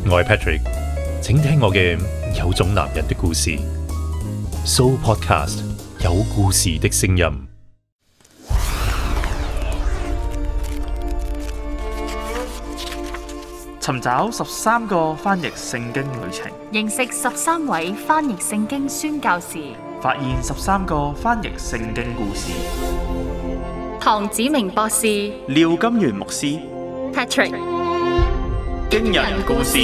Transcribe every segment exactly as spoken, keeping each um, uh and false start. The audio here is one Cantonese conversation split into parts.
我係 Patrick， 請聽我嘅有種男人的故事。So Podcast 有故事的聲音。 尋找十三個翻譯聖經旅程， 認識十三位翻譯聖經宣教士， 發現十三個翻譯聖經故事。 唐子明博士、 廖金元牧師、 Patrick， 驚人故事。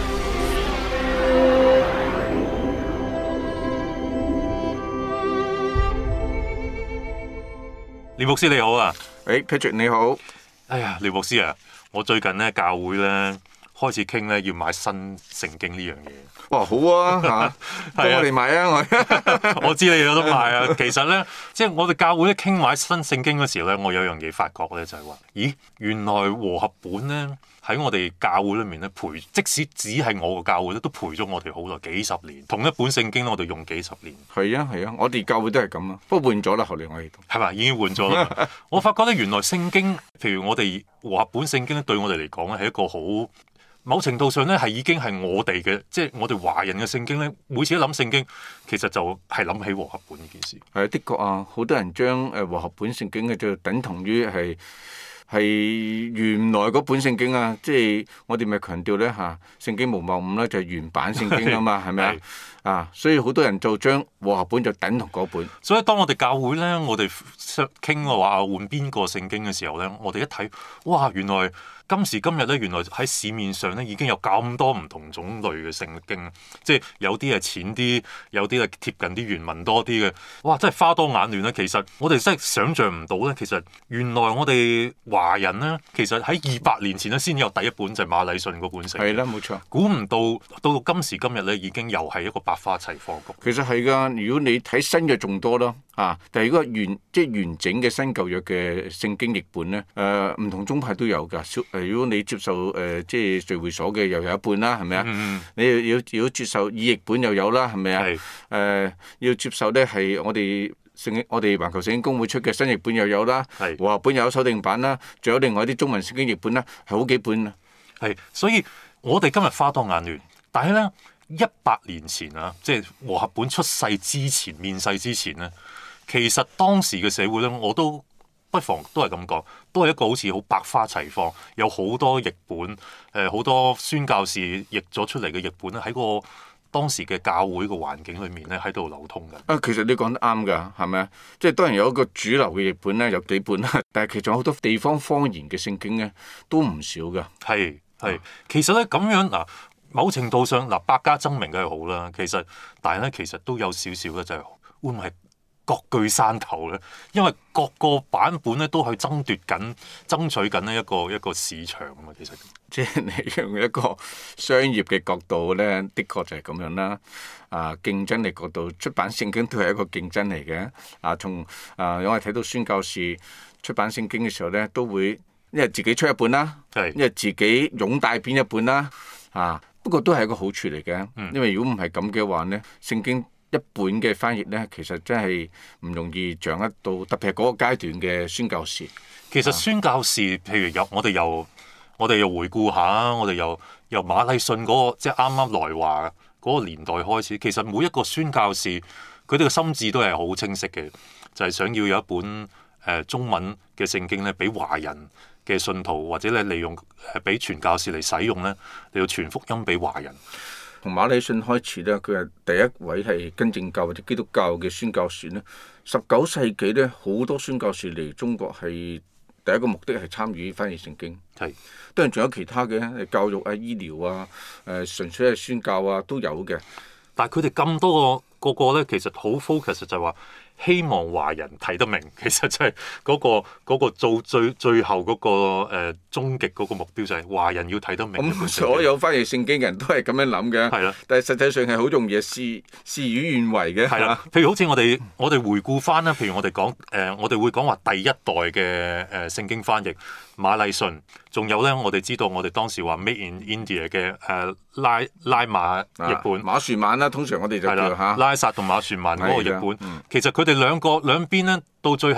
廖牧師你好啊！ 誒、hey, Patrick 你好。 哎呀，廖牧師啊，我最近咧教會咧開始傾咧要買新聖經呢樣嘢。 哇，好啊嚇，幫我哋買啊！我我知你有得買啊。其實咧，即係我哋教會咧傾買新聖經嗰時咧，我有樣嘢發覺咧，就係話，咦，原來和合本咧喺我哋教會裏面咧陪，即使只係我個教會咧，都陪咗我哋好耐幾十年。同一本聖經我哋用幾十年。 係啊係啊，我哋教會都係咁啊，不過換咗啦，後嚟我哋都係咪已經換咗啦？我發覺咧，原來聖經，譬如我哋和合本聖經咧，對我哋嚟講咧係一個好。某程度上咧，係已經係我哋嘅，即係我哋華人嘅聖經咧。每次一諗聖經，其實就係諗起和合本呢件事。 係啊，的確啊，好多人將誒和合本聖經嘅就等同於係係原來嗰本聖經啊。即係我哋咪強調咧嚇，聖經無謬誤啦，就係原版聖經啊嘛，係咪啊？啊，所以好多人就將和合本就等同嗰本。 所以當我哋教會咧，我哋傾嘅話換邊個聖經嘅時候咧，我哋一睇，哇，原來今時今日咧，原來喺市面上咧已經有咁多唔同種類嘅聖經，即係有啲係淺啲，有啲係貼近啲原文多啲嘅。哇！真係花多眼亂咧。其實我哋真係想像唔到咧。其實原來我哋華人咧，其實喺二百年前咧先有第一本就係馬禮遜嗰本聖經。 係啦，冇錯。 估唔到到到今時今日咧，已經又係一個百花齊放局。 其實係㗎，如果你睇新約仲多咯。啊！但係如果完即係完整嘅新舊約嘅聖經譯本咧，誒、呃、唔同宗派都有㗎。誒、呃、如果你接受誒、呃、即係聚會所嘅又有一半啦，係咪啊？ 嗯、 你要要如果接受意譯本又有啦，係咪啊？誒是、呃、要接受咧係我哋聖經，我哋環球聖經公會出嘅新譯本又有啦，和合是本又有修訂版啦，仲有另外啲中文聖經譯本啦，係好幾本啊。 係，所以我哋今日花多眼亂，但係咧一百年前啊，即係和合本出世之前、面世之前咧。其實當時嘅社會咧，我都不妨都係咁講，都係一個好似好百花齊放，有好多譯本，誒、呃、好多宣教士譯咗出嚟嘅譯本咧，喺個當時嘅教會嘅環境裏面咧，喺度流通嘅。啊， 其實你講得啱㗎，係咪啊？即係當然有一個主流嘅譯本咧，有幾本啦，但係其實好多地方方言嘅聖經咧，都唔少㗎。 係係，其實咧咁樣嗱，某程度上嗱，百家爭鳴梗係好啦。其實，但係咧，其實都有少少咧，就係會唔會係各據山頭咧，因為各個版本咧都去爭奪緊、爭取緊呢一個一個市場啊嘛。其實即係你用一個商業嘅角度咧，的確就係咁樣啦。啊，競爭力角度，出版聖經都係一個競爭嚟嘅。啊，從啊，我哋睇到宣教士出版聖經嘅時候咧，都會因為自己出一本啦， 係因為自己擁帶編一本啦。啊，不過都係一個好處嚟嘅， 嗯、 因為如果唔係咁嘅話咧，聖經一本嘅翻譯咧，其實真係唔容易掌握到，特別係嗰個階段嘅宣教士。 其實宣教士，譬如有我哋又我哋又回顧下，我哋又由馬禮遜嗰個即係啱啱來華嗰個年代開始，其實每一個宣教士佢哋嘅心智都係好清晰嘅，就係、是、想要有一本誒、呃、中文嘅聖經咧，俾華人嘅信徒或者咧利用誒俾傳教士嚟使用咧，嚟到傳福音俾華人。 從馬禮遜開始咧，佢係第一位係根正教或者基督教嘅宣教士咧。十九世紀咧，好多宣教士嚟中國係第一個目的係參與翻譯聖經。係是，當然仲有其他嘅教育啊、醫療啊、誒、呃、純粹係宣教啊都有嘅。 但係佢哋咁多個個個咧，其實好 focus 就係話。希望華人睇得明，其實就係嗰、嗰個嗰個做最最後嗰、嗰個誒、呃、終極嗰個目標就係華人要睇得明。 咁所有翻譯聖經嘅人都係咁樣諗嘅。係啦的，但係實際上係好容易事事與願違嘅。 係啦，譬如好似我哋我哋回顧翻啦，譬如我哋講誒，我哋會講話第一代嘅誒、呃、聖經翻譯馬禮遜，仲有咧我哋知道我哋當時話 Made in India 嘅誒、呃、拉拉馬譯本、 啊、馬殊曼啦，通常我哋就叫嚇拉薩同馬殊曼嗰個譯本，嗯、其實佢哋兩個兩邊咧，到最後嗰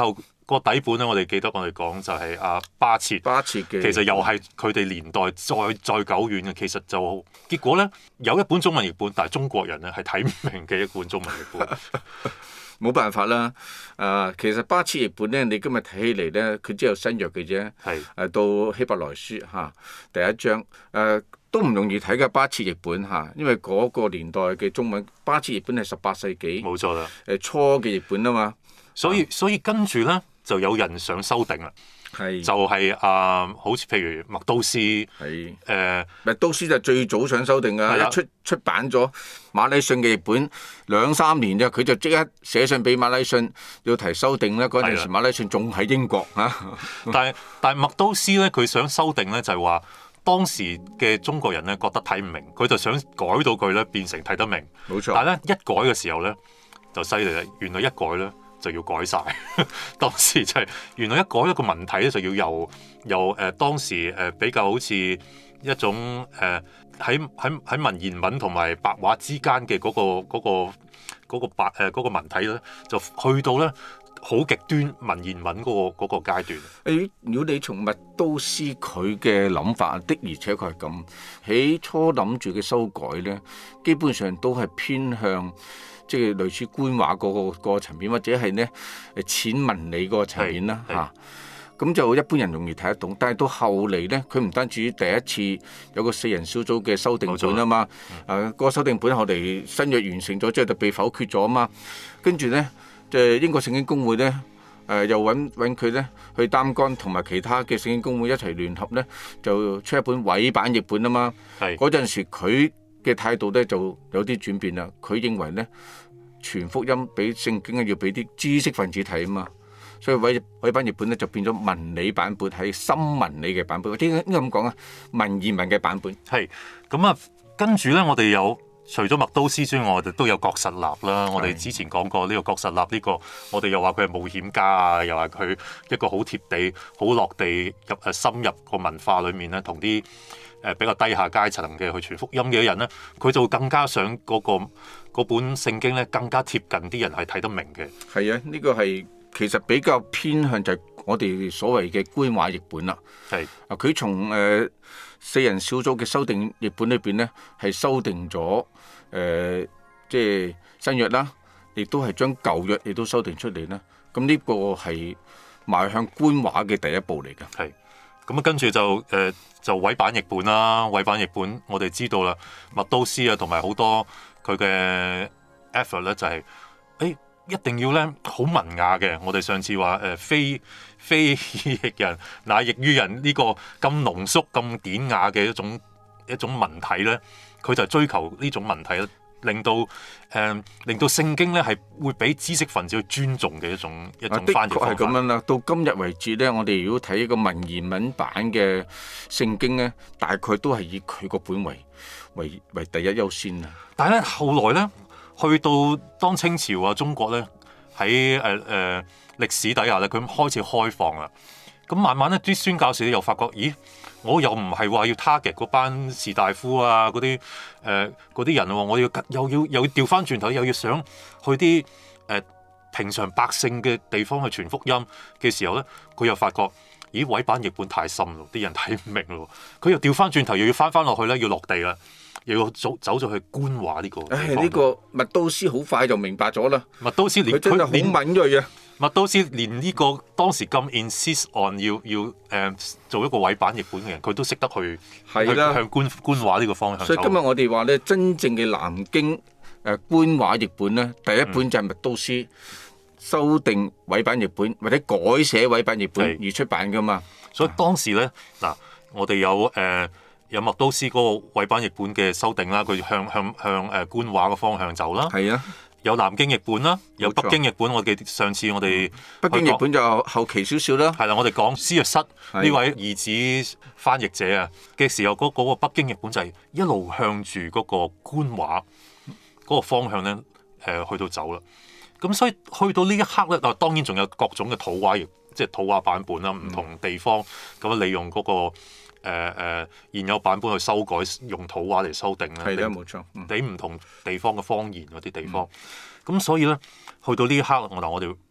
個底本咧，我哋記得我哋講就係阿巴切， 巴切嘅， 其實又係佢哋年代再再久遠嘅。其實就結果咧有一本中文譯本，但係中國人咧係睇唔明嘅一本中文譯本。 冇辦法啦，啊，其實巴切譯本咧，你今日睇起嚟咧，佢只有新約嘅啫， 係誒、啊、到希伯來書嚇、啊、第一章，誒、啊、都唔容易睇嘅巴切譯本嚇、啊，因為嗰個年代嘅中文巴切譯本係十八世紀， 冇錯啦， 誒初嘅譯本啊嘛， 所以所以跟住咧就有人想修訂啦。 係就係、是、啊、呃，好似譬如麥都斯，誒係誒麥都斯就最早想修訂㗎， 的一出出版咗馬禮遜嘅譯本兩三年啫，佢就即刻寫信俾馬禮遜要提修訂咧。嗰陣時馬禮遜仲喺英國嚇， 但係但係麥都斯咧，佢想修訂咧就係話當時嘅中國人咧覺得睇唔明，佢就想改到佢咧變成睇得明。 冇錯。 但係咧一改嘅時候咧就犀利啦，原來一改咧就要改晒。當時就係、是、原來一改一個文體咧，就要由由誒、呃、當時誒、呃、比較好似一種誒喺喺喺文言文同埋白話之間嘅嗰、嗰個嗰、嗰個嗰、嗰個白誒、呃嗰個、文體咧，就去到咧好極端文言文嗰、嗰個嗰、嗰個階段。 誒，如果你從麥都斯佢嘅諗法的，而且確係咁起初諗住嘅修改咧，基本上都係偏向。即係類似官話嗰個個層面，或者係咧誒淺文理嗰個層面啦嚇。咁就一般人容易睇得懂，但係到後嚟咧，佢唔單止第一次有個四人小組嘅修訂本啊嘛，誒嗰個修訂本後嚟新約完成咗之後就被否決咗啊嘛。跟住咧，即係英國聖經公會咧誒又揾揾佢咧去擔綱，同埋其他嘅聖經公會一齊聯合咧，就出一本委版譯本啊嘛。嗰陣時佢嘅態度咧就有啲轉變啦，佢認為咧傳福音俾聖經咧要俾啲知識分子睇啊嘛，所以委委版譯本咧就變咗文理版本，係深文理嘅版本，點解應該咁講啊？文言文嘅版本係咁啊，跟住咧我哋有除咗麥都斯之外，我哋都有郭實臘啦。我哋之前講過呢個郭實臘呢、呢個，我哋又話佢係冒險家啊，又話佢一個好貼地、好落地入誒深入個文化裏面咧，同啲誒比較低下階層嘅去傳福音嘅人咧，佢就更加想嗰、嗰個嗰本聖經咧更加貼近啲人係睇得明嘅。 係啊，呢、呢個係其實比較偏向就係我哋所謂嘅官話譯本啦。 係啊，佢從誒、呃、四人小組嘅修訂譯本裏邊咧，係修訂咗誒、呃、即係新約啦，亦都係將舊約亦都修訂出嚟啦。咁呢個係邁向官話嘅第一步嚟㗎。 係。咁啊，跟住就誒、呃、就委版譯本啦，委版譯本我哋知道啦，麥都斯啊同埋好多佢嘅 effort 咧就係、是、誒、欸、一定要咧好文雅嘅。我哋上次話誒、呃、非非譯人乃譯於人呢個咁濃縮咁典雅嘅一種一種文體咧，佢就追求呢種文體咧。令到誒、呃、令到聖經咧係會俾知識分子去尊重嘅一種一種翻譯方法。 的確係咁樣啦。到今日為止咧，我哋如果睇一個文言文版嘅聖經咧，大概都係以佢個本為為為第一優先啊。 但係咧後來咧，去到當清朝啊，中國咧喺誒誒歷史底下咧，佢開始開放啦。咁慢慢咧，啲宣教士又發覺，咦？我又唔係話要 target 嗰班士大夫啊，嗰啲誒嗰啲人喎、啊，我要又要又要調翻轉頭，又要想去啲誒、呃、平常百姓嘅地方去傳福音嘅時候咧，佢又發覺，咦？委版譯本太深咯，啲人睇唔明咯，佢又調翻轉頭，又要翻翻落去咧，要落地啦，又要走走咗去官話呢個。 唉，呢、這個麥都斯好快就明白咗啦。 麥都斯連佢真係好敏鋭啊！ 麥都斯連呢個當時咁 insist on 要要誒、呃、做一個委版譯本嘅人，佢都識得去係啦， 向官官話呢個方向走。 所以今日我哋話咧，真正嘅南京誒、呃、官話譯本咧，第一本就係麥都斯、嗯、修訂委版譯本或者改寫委版譯本而出版噶嘛。 所以當時咧嗱，我哋有誒、呃、有麥都斯嗰個委版譯本嘅修訂啦，佢向向向誒官話嘅方向走啦。 係啊。 有南京譯本啦，有北京譯本。我記得上次我哋北京譯本就後期少少啦。 係啦，我哋講施約瑟呢位兒子翻譯者啊嘅時候，嗰、嗰個北京譯本就係一路向住嗰個官話嗰個方向咧，誒、呃、去到走啦。咁所以去到呢一刻咧，嗱當然仲有各種嘅土話譯，即係土話版本啦，唔同地方咁利用嗰、嗰個。誒誒、呃呃、現有版本去修改，用土話嚟修訂咧， 係啦，冇錯， 俾唔同地方嘅方言嗰啲地方。咁、嗯、所以咧，去到呢一刻，我嗱我哋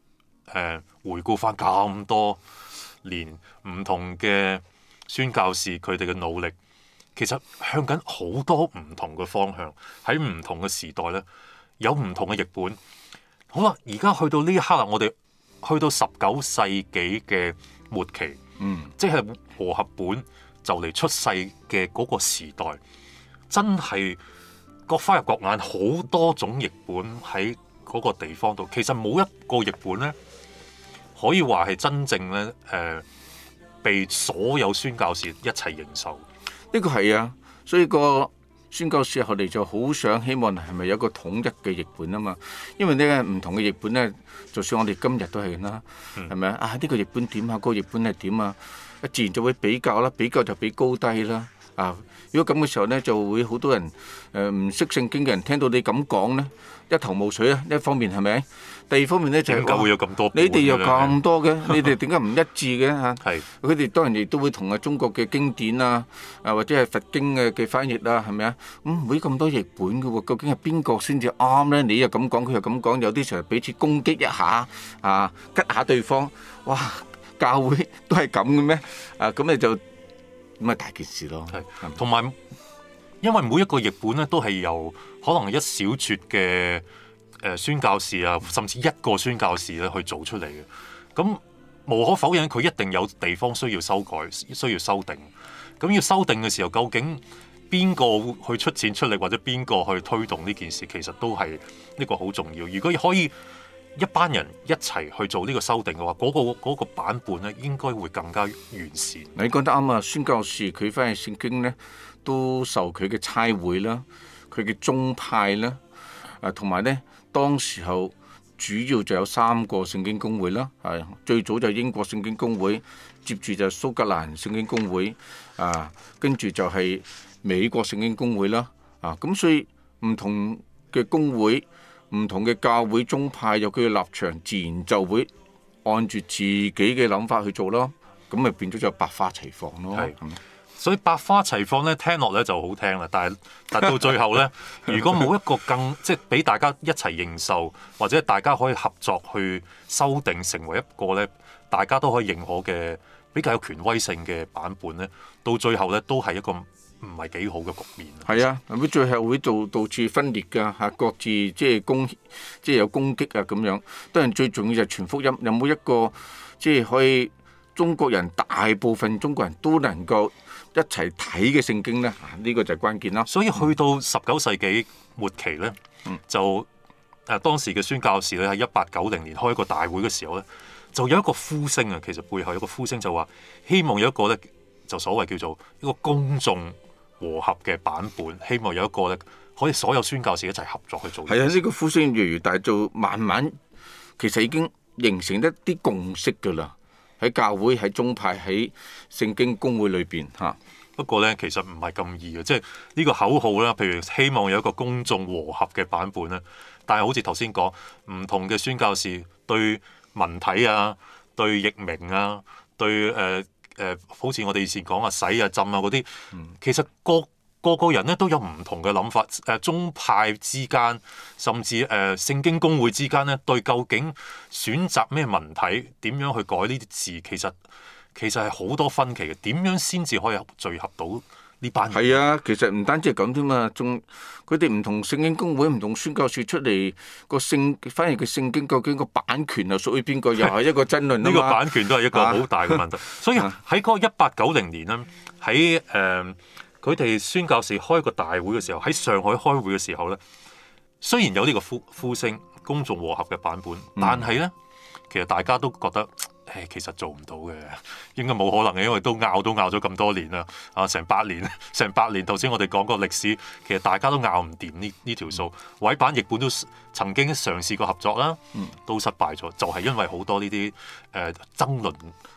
呃、回顧翻咁多年唔同嘅宣教士佢哋嘅努力，其實向緊好多唔同嘅方向，喺唔同嘅時代咧有唔同嘅譯本。好啦，而家去到呢一刻啦，我哋去到十九世紀嘅末期， 嗯， 即係和合本就嚟出世嘅嗰個時代，真係各花入各眼，好多種譯本喺嗰個地方度。其實冇一個譯本咧，可以話係真正咧誒、呃、被所有宣教士一齊認受。 呢個係啊，所以個宣教士後嚟就好想希望係咪有一個統一嘅譯本啊嘛？因為呢唔同嘅譯本咧，就算我哋今日都係啦，係咪、嗯、啊？呢、這個譯本點啊？嗰、那個譯本係點啊？自然就會比較啦，比較就比高低啦。啊，如果咁嘅時候咧，就會好多人誒唔識聖經嘅人聽到你咁講咧，一頭霧水啊！一方面係咪？第二方面咧就係、是、 點解會有咁多？ 你哋有咁多嘅，你哋點解唔一致嘅嚇？ 係佢哋當然亦都會同啊中國嘅經典啊，啊或者係佛經嘅嘅翻譯啊，係咪啊？咁唔會咁多譯本嘅喎，究竟係邊個先至啱咧？你又咁講，佢又咁講，有啲時候彼此攻擊一下啊，吉下對方，哇！教會都係咁嘅咩？啊，咁你就咁咪大件事咯。 係，同埋因為每一個譯本咧都係由可能一小撮嘅誒宣教士啊，甚至一個宣教士咧去做出嚟嘅。咁無可否認，佢一定有地方需要修改、需要修訂。咁要修訂嘅時候，究竟邊個去出錢出力，或者邊個去推動呢件事，其實都係呢個好重要。如果可以一班人一齊去做呢個修訂嘅話，嗰、嗰個嗰個版本咧應該會更加完善。 你講得啱啊！宣教士佢翻去聖經咧，都受佢嘅差會啦，佢嘅宗派啦，啊同埋咧當時候主要就有三個聖經公會啦，係最早就係英國聖經公會，接住就蘇格蘭聖經公會，啊跟住就係美國聖經公會啦，啊咁所以唔同嘅公會。唔同嘅教會宗派有佢嘅立場，自然就會按住自己嘅諗法去做咯。咁咪變咗就百花齊放咯。 係，所以百花齊放咧，聽落咧就好聽啦。但係但到最後咧，如果冇一個更即係俾大家一齊認受，或者大家可以合作去修訂成為一個咧，大家都可以認可嘅比較有權威性嘅版本咧，到最後咧都係一個唔係幾好嘅局面。 係啊，會最後會導導致分裂㗎嚇，各自即係攻即係有攻擊啊咁樣。當然最重要就係傳福音，有冇一個即係可以中國人大部分中國人都能夠一齊睇嘅聖經咧？呢、啊呢個就係關鍵啦。 所以去到十九世紀末期咧， 嗯、 就誒當時嘅宣教士咧喺一八九零年開一個大會嘅時候咧，就有一個呼聲啊。其實背後有一個呼聲就話希望有一個咧，就所謂叫做一個公眾和合嘅版本，希望有一個咧可以所有宣教士一齊合作去做。 係啊，呢、這個呼聲越嚟越大，就慢慢其實已經形成一啲共識㗎啦。喺教會、喺宗派、喺聖經公會裏邊嚇。 不過咧，其實唔係咁易嘅，即係呢個口號啦。譬如希望有一個公眾和合嘅版本咧，但係好似頭先講，唔同嘅宣教士對文體啊、對譯名啊、對誒。呃誒、呃，好似我哋以前講啊，洗啊、浸啊嗰啲，其實個個個人咧都有唔同嘅諗法。誒、呃，宗派之間，甚至誒、呃、聖經公會之間咧，對究竟選擇咩文體、點樣去改呢啲字，其實其實係好多分歧嘅。點樣先至可以聚合到呢班人？ 係啊，其實唔單止係咁添嘛，仲佢哋唔同聖經公會、唔同宣教士出嚟個聖，反而個聖經究竟個版權係屬於邊個，又係一個爭論。 呢個版權都係一個好大嘅問題。啊、所以喺嗰個一八九零年咧，喺誒佢哋宣教士開個大會嘅時候，喺上海開會嘅時候咧，雖然有呢個呼呼聲公眾和合嘅版本，但係咧其實大家都覺得。誒其實做唔到嘅，應該冇可能嘅，因為都拗都拗咗咁多年啦，啊成百年，成百年。頭先我哋講過歷史，其實大家都拗唔掂呢呢條數。委辦譯本都曾經嘗試過合作啦，都失敗咗，就係、是、因為好多呢啲誒爭論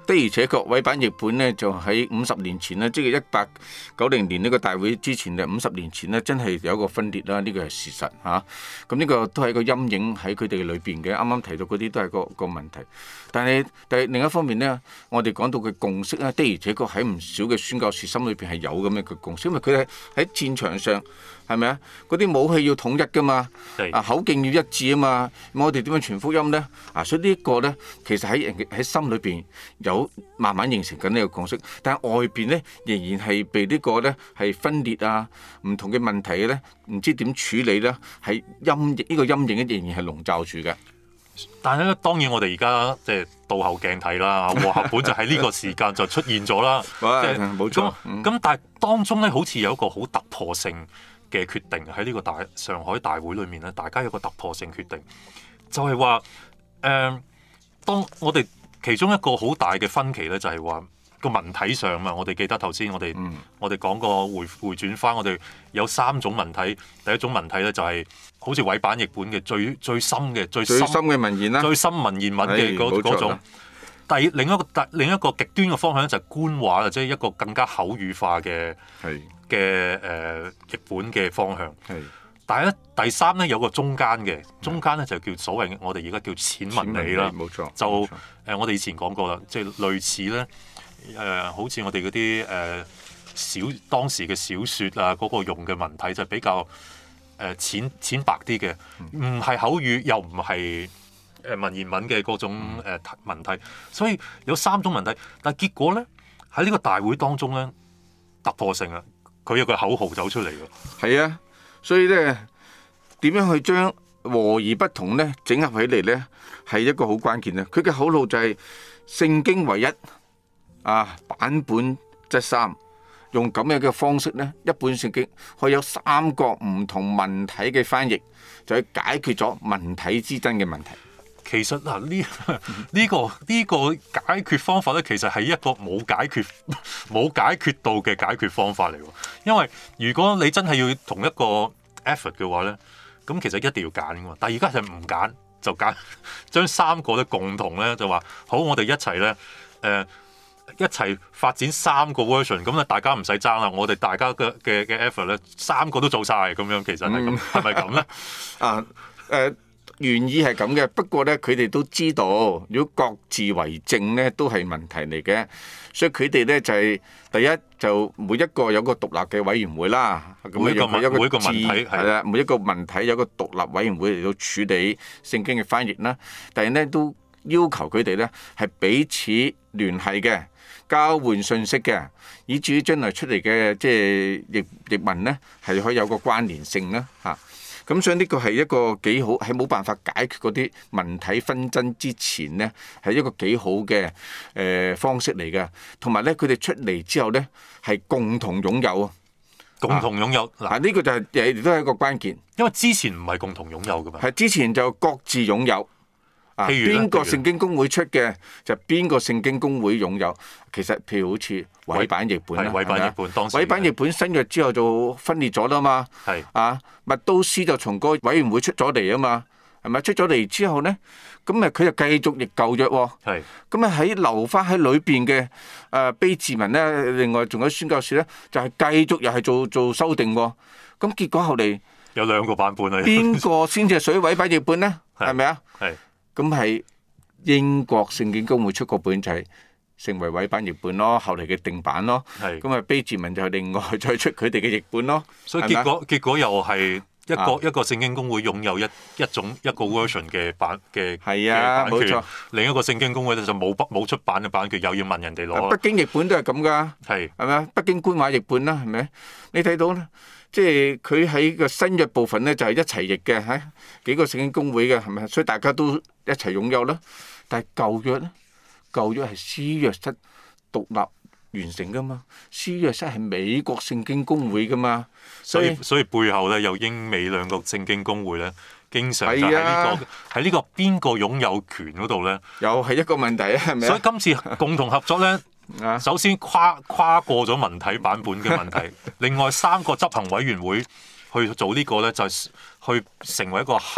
的而且確，委辦譯本呢，就喺五十年前呢，即係一八九零年呢個大會之前嘅五十年前呢，真係有一個分裂啦。呢個係事實嚇。咁、啊、呢個都係一個陰影喺佢哋裏邊嘅。啱啱提到嗰啲都係個個問題。但係但係另一方面呢，我哋講到嘅共識咧，的而且確喺唔少嘅宣教士心裏邊係有咁樣嘅共識，因為佢哋喺戰場上係咪啊？嗰啲武器要統一噶嘛，啊口徑要一致啊嘛。咁我哋點樣傳福音呢？啊，所以呢一個呢，其實喺人喺心裏邊有慢慢形成緊呢個共識，但係外邊呢，仍然係被呢個呢係分裂啊，唔同嘅問題呢，唔知點處理呢，係陰影呢個陰影仍然係籠罩住嘅。 但係咧，當然我哋而家即係倒後鏡睇啦，和合本就喺呢個時間就出現咗啦。即係冇錯。咁、 嗯、但係當中咧，好似有一個好突破性嘅決定喺呢個大上海大會裏面咧，大家有個突破性決定，就係話誒，當我哋其中一個好大嘅分歧咧，就係話個文體上嘛。我哋記得頭先我哋、嗯、我哋講過回回轉翻，我哋有三種文體。第一種文體咧就係、是、好似委辦譯本嘅最最深嘅最深嘅文言啦， 最深文言文嘅嗰嗰種。第另一個第另一個極端嘅方向咧就係官話啦，即係一個更加口語化嘅嘅誒譯本嘅方向。係，但係咧第三咧有個中間嘅，中間咧就叫所謂我哋而家叫淺文理啦。冇錯，就誒、呃、我哋以前講過啦，即係類似咧誒、呃，好似我哋嗰啲誒小當時嘅小説啊，嗰、那個用嘅文體就比較誒、呃、淺淺白啲嘅，唔係口語又唔係誒文言文嘅嗰種誒文體，所以有三種文體。但係結果咧喺呢個大會當中咧突破性啊，佢有個口號走出嚟㗎。係啊，所以咧點樣去將和而不同咧整合起嚟咧，係一個好關鍵啊！佢嘅口號就係聖經唯一啊，版本則三。用咁樣嘅方式咧，一本聖經可以有三個唔同文體嘅翻譯，就去解決咗文體之爭嘅問題。 其實嗱，呢呢個呢個解決方法咧，其實係一個冇解決冇解決到嘅解決方法嚟喎。因為如果你真係要同一個 effort 嘅話咧，咁其實一定要揀㗎嘛。但係而家就唔揀，就揀將三個咧共同咧就話好，我哋一齊咧誒。呃一齊發展三個 version，咁咧大家唔使爭啦。我哋大家嘅嘅嘅 effort 咧，三個都做晒。咁樣，其實係咁，係咪咁咧？啊誒、 呃，原意係咁嘅，不過咧，佢哋都知道，如果各自為政咧，都係問題嚟嘅。所以佢哋咧就係、是、第一就每一個有個獨立嘅委員會啦。 每一個文每一個文體係啦，每一個文體有個獨立委員會嚟到處理聖經嘅翻譯啦。但係咧都要求佢哋咧係彼此聯繫嘅。交換信息嘅，以至於將來出嚟嘅即係譯譯文咧，係可以有個關聯性啦嚇。咁、啊、所以呢個係一個幾好，係冇辦法解決嗰啲文體紛爭之前咧，係一個幾好嘅誒、呃、方式嚟嘅。同埋咧，佢哋出嚟之後咧，係共同擁有啊， 共同擁有嗱，呢、 啊呢個就係亦都係一個關鍵。 因為之前唔係共同擁有㗎嘛， 係之前就各自擁有。啊！邊個聖經公會出嘅就邊個聖經公會擁有。其實譬如好似委辦譯本啦， 委辦譯本當時委辦譯本新約之後就分裂咗啦嘛。係啊，麥都斯就從個委員會出咗嚟啊嘛，係咪出咗嚟之後咧？咁咪佢就繼續譯舊約喎。係咁啊，喺留翻喺裏邊嘅誒裨治文咧，另外仲有宣教士咧，就係繼續又係做做修訂喎。咁結果後嚟有兩個版本啊。 邊個先至係屬於委辦譯本咧？係咪啊？係。咁係英國聖經公會出個本就係成為委辦譯本咯，後嚟嘅定版咯。咁啊裨治文就另外再出佢哋嘅譯本咯。 所以結果結果又係一個、啊、一個聖經公會擁有一一種一個 version 嘅版嘅係啊，冇錯。 另一個聖經公會咧就冇冇出版嘅版權，又要問人哋攞。 北京譯本都係咁㗎。係係咪啊？北京官話譯本啦，係咪？你睇到咧？即係佢喺個新約部分咧，就係一齊譯嘅嚇，幾個聖經公會嘅係咪？所以大家都一齊擁有啦。但係舊約咧，舊約係施約瑟獨立完成噶嘛，施約瑟係美國聖經公會噶嘛。 所以所以背後咧有英美兩個聖經公會咧，經常就喺呢個喺呢個邊個擁有權嗰度咧， 又係一個問題啊，係咪？ 所以今次共同合作咧。首先跨跨過咗文體版本嘅問題，另外三個執行委員會去做呢個咧，就係去成為一個合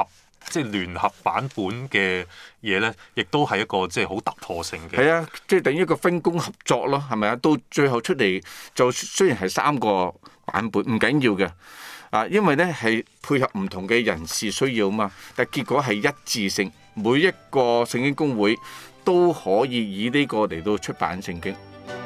即係聯合版本嘅嘢咧，亦都係一個即係好突破性嘅。 係啊，即係等於一個分工合作咯，係咪啊？到最後出嚟就雖然係三個版本，唔緊要嘅啊，因為咧係配合唔同嘅人士需要嘛，但係結果係一致性，每一個聖經公會都可以以呢個嚟到出版聖經。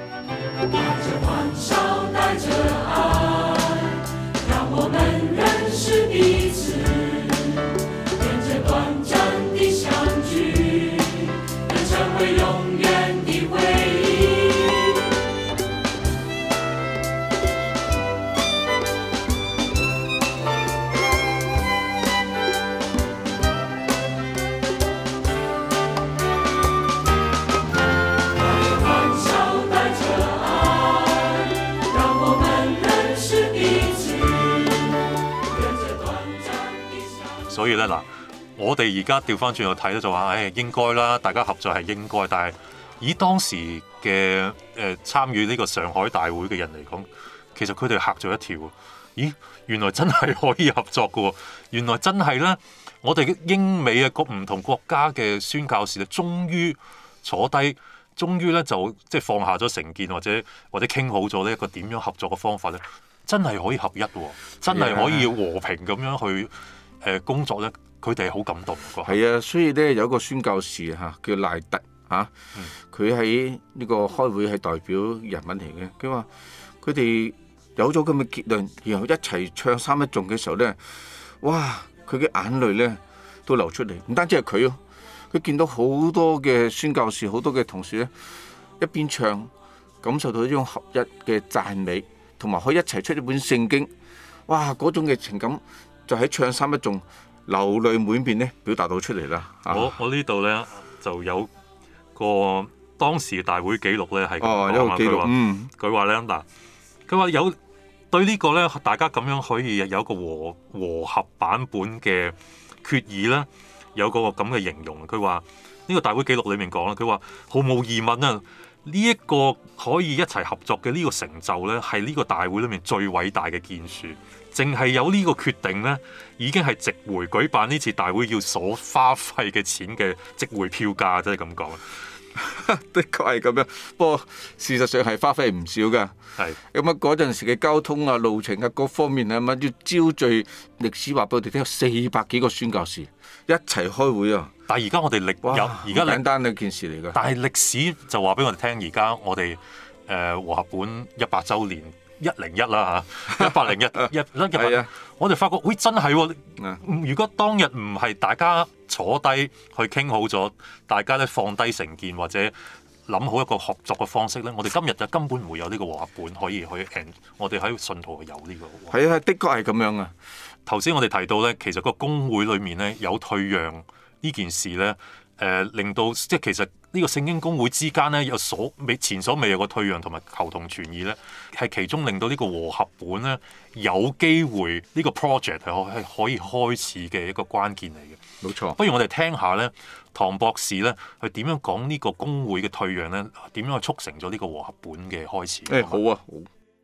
所以咧嗱，我哋而家調翻轉去睇咧，就話，誒應該啦，大家合作係應該。但係以當時嘅誒、呃、參與呢個上海大會嘅人嚟講，其實佢哋嚇咗一跳。咦，原來真係可以合作嘅喎！原來真係咧，我哋英美嘅各唔同國家嘅宣教士咧，終於坐低，終於咧就即係放下咗成見，或者或者傾好咗呢一個點樣合作嘅方法咧，真係可以合一喎，真係可以和平咁樣去。誒工作咧，佢哋係好感動㗎。 係啊，所以咧有一個宣教士嚇叫賴特嚇，佢喺呢個開會係代表人物嚟嘅。佢話佢哋有咗咁嘅結論，然後一齊唱三一頌嘅時候咧，哇！佢嘅眼淚咧都流出嚟。唔單止係佢咯，佢見到好多嘅宣教士、好多嘅同事咧，一邊唱，感受到呢種合一嘅讚美，同埋可以一齊出一本聖經。哇！嗰種嘅情感。就喺唱三一頌流淚滿面咧，表達到出嚟啦。 我我呢度咧就有個當時嘅大會記錄咧，係哦，有個記錄。嗯， 佢話咧嗱，佢話有對呢個咧，大家咁樣可以有一個和和合版本嘅決議咧，有個咁嘅形容。佢話呢個大會記錄裡面講啦，佢話毫無疑問啊，呢、這、一個可以一齊合作嘅呢個成就咧，係呢個大會裡面最偉大嘅建樹。淨係有呢個決定咧，已經係值回舉辦呢次大會要所花費嘅錢嘅值回票價，即係咁講。 的確係咁樣，不過事實上係花費唔少㗎。 係咁啊，嗰陣時嘅交通啊、路程啊各方面啊，咁要招聚歷史話俾我哋聽，有四百幾個宣教士一齊開會啊！ 但係而家我哋歷哇有而家簡單嘅一件事嚟㗎。 但係歷史就話俾我哋聽，而家我哋誒、呃、和合本一百週年。一零一啦嚇，一百零一一一一百，我哋發覺，喂、哎、真係喎、哦！如果當日唔係大家坐低去傾好咗，大家咧放低成見或者諗好一個合作嘅方式咧，我哋今日就根本唔會有呢個和合本可以去，我哋喺信徒有呢個。 係啊，的確係咁樣啊！ 頭先我哋提到咧，其實個公會裏面咧有退讓呢件事咧，誒、呃、令到即係其實。呢個聖經公會之間咧有所未前所未有嘅退讓同埋求同存異咧，係其中令到呢個和合本咧有機會呢個 project 係可係可以開始嘅一個關鍵嚟嘅。 冇錯， 不如我哋聽下咧，唐博士咧佢點樣講呢個公會嘅退讓咧，點樣去促成咗呢個和合本嘅開始？ 誒、欸、好啊，好。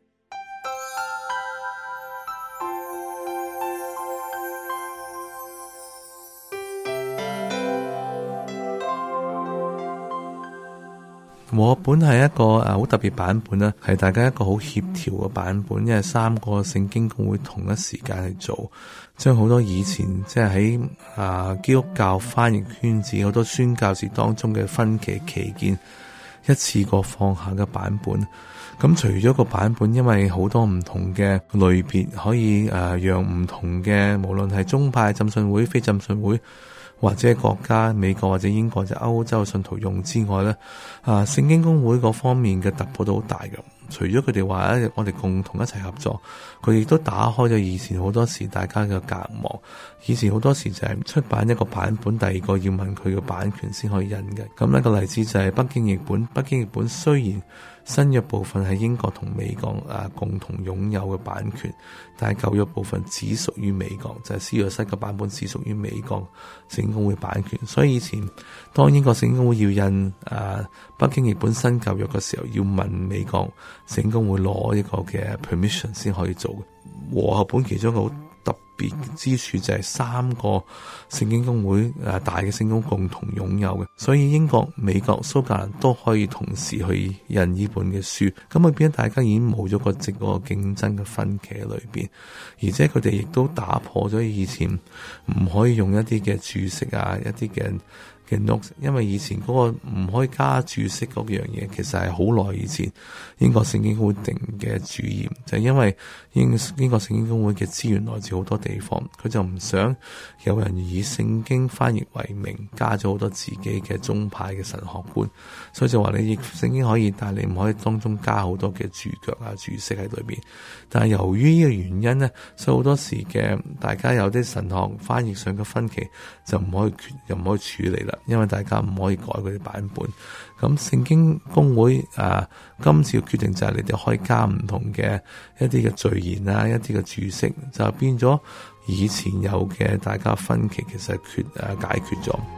和合本係一個誒好特別版本啦，係大家一個好協調嘅版本，因為三個聖經公會同一時間去做，將好多以前即係喺啊基督教翻譯圈子好多宣教士當中嘅分歧歧見，一次過放下嘅版本。咁除咗個版本，因為好多唔同嘅類別可以誒讓唔同嘅，無論係宗派、浸信會、非浸信會，或者國家美國或者英國或者歐洲嘅信徒用之外咧，啊聖經公會嗰方面嘅突破都好大嘅。除咗佢哋話咧，我哋共同一齊合作，佢亦都打開咗以前好多時大家嘅隔膜。以前好多時就係出版一個版本，第二個要問佢嘅版權先可以印嘅。咁一個例子就係北京譯本，北京譯本雖然新約部分係英國同美國啊共同擁有嘅版權，但係舊約部分只屬於美國，就係施約瑟嘅版本只屬於美國聖經公會版權。所以以前當英國聖經公會要印啊北京譯本新舊約嘅時候，要問美國聖經公會攞一個嘅 permission 先可以做嘅。和合本其中一個好特別之處就係三個聖經公會誒大嘅聖公共同擁有嘅，所以英國、美國、蘇格蘭都可以同時去印呢本嘅書，咁啊變咗大家已經冇咗個直個競爭嘅分歧喺裏邊，而且佢哋亦都打破咗以前唔可以用一啲嘅注釋啊，一啲嘅嘅 notes， 因為以前嗰個唔可以加注釋嗰樣嘢，其實係好耐以前英國聖經公會定嘅主義，就係、是、因為英英國聖經公會嘅資源來自好多地方，佢就唔想有人以聖經翻譯為名，加咗好多自己嘅宗派嘅神學觀，所以就話你譯聖經可以，但係你唔可以當中加好多嘅注腳啊、注釋喺裏邊。但係由於呢個原因呢，所以好多時嘅大家有啲神學翻譯上嘅分歧就唔可以決又唔可以處理啦。因為大家唔可以改佢哋版本，咁聖經公會啊，今次嘅決定就係你哋可以加唔同嘅一啲嘅序言啊，一啲嘅注釋，就變咗以前有嘅大家分歧，其實係決誒、啊、解決咗。